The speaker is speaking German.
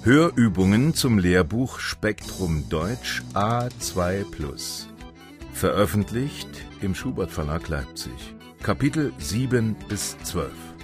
Hörübungen zum Lehrbuch Spektrum Deutsch A2+. Veröffentlicht im Schubert Verlag Leipzig. Kapitel 7 bis 12.